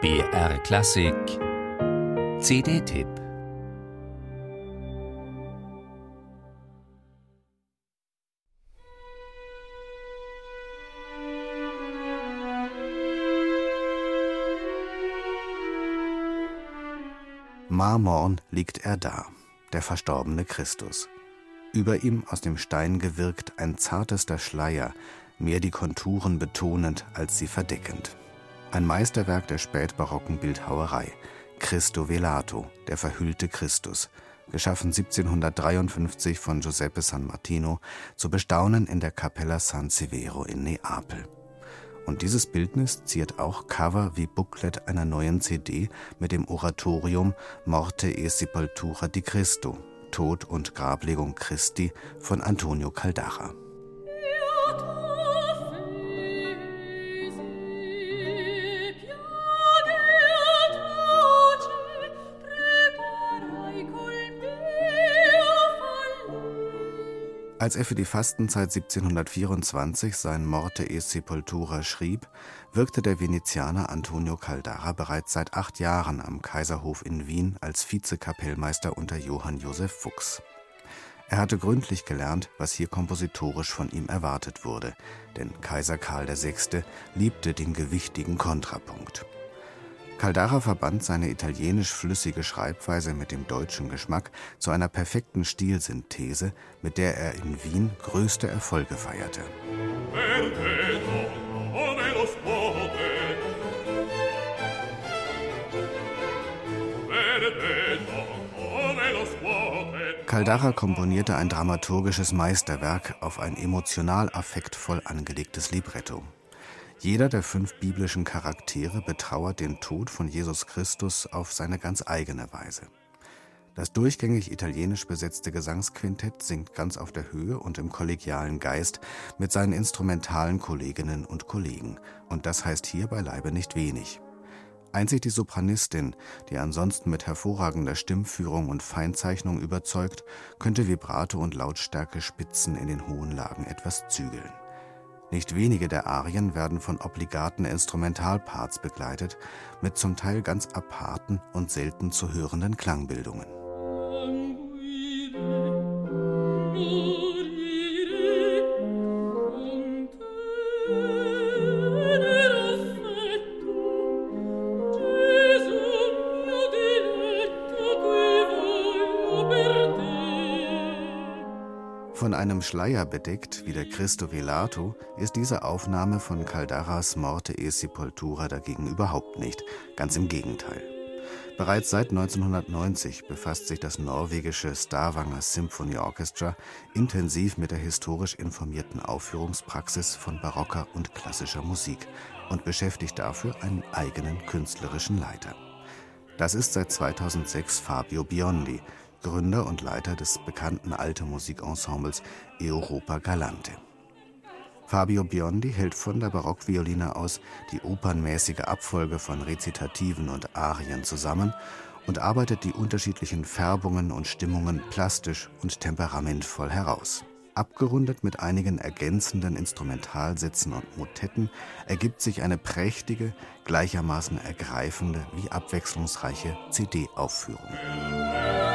BR Klassik CD-Tipp. Marmorn liegt er da, der verstorbene Christus. Über ihm aus dem Stein gewirkt ein zartester Schleier, mehr die Konturen betonend als sie verdeckend. Ein Meisterwerk der spätbarocken Bildhauerei, Cristo Velato, der verhüllte Christus, geschaffen 1753 von Giuseppe San Martino, zu bestaunen in der Cappella San Severo in Neapel. Und dieses Bildnis ziert auch Cover wie Booklet einer neuen CD mit dem Oratorium Morte e Sepoltura di Cristo, Tod und Grablegung Christi von Antonio Caldara. Als er für die Fastenzeit 1724 sein Morte e Sepoltura schrieb, wirkte der Venezianer Antonio Caldara bereits seit 8 Jahren am Kaiserhof in Wien als Vizekapellmeister unter Johann Joseph Fuchs. Er hatte gründlich gelernt, was hier kompositorisch von ihm erwartet wurde, denn Kaiser Karl VI. Liebte den gewichtigen Kontrapunkt. Caldara verband seine italienisch-flüssige Schreibweise mit dem deutschen Geschmack zu einer perfekten Stilsynthese, mit der er in Wien größte Erfolge feierte. Caldara komponierte ein dramaturgisches Meisterwerk auf ein emotional affektvoll angelegtes Libretto. Jeder der 5 biblischen Charaktere betrauert den Tod von Jesus Christus auf seine ganz eigene Weise. Das durchgängig italienisch besetzte Gesangsquintett singt ganz auf der Höhe und im kollegialen Geist mit seinen instrumentalen Kolleginnen und Kollegen. Und das heißt hier beileibe nicht wenig. Einzig die Sopranistin, die ansonsten mit hervorragender Stimmführung und Feinzeichnung überzeugt, könnte Vibrato und Lautstärke-Spitzen in den hohen Lagen etwas zügeln. Nicht wenige der Arien werden von obligaten Instrumentalparts begleitet, mit zum Teil ganz aparten und selten zu hörenden Klangbildungen. Von einem Schleier bedeckt, wie der Cristo Velato, ist diese Aufnahme von Caldaras Morte e Sepoltura dagegen überhaupt nicht, ganz im Gegenteil. Bereits seit 1990 befasst sich das norwegische Stavanger Symphony Orchestra intensiv mit der historisch informierten Aufführungspraxis von barocker und klassischer Musik und beschäftigt dafür einen eigenen künstlerischen Leiter. Das ist seit 2006 Fabio Biondi, Gründer und Leiter des bekannten Alte Musikensembles Europa Galante. Fabio Biondi hält von der Barockvioline aus die opernmäßige Abfolge von Rezitativen und Arien zusammen und arbeitet die unterschiedlichen Färbungen und Stimmungen plastisch und temperamentvoll heraus. Abgerundet mit einigen ergänzenden Instrumentalsätzen und Motetten ergibt sich eine prächtige, gleichermaßen ergreifende wie abwechslungsreiche CD-Aufführung.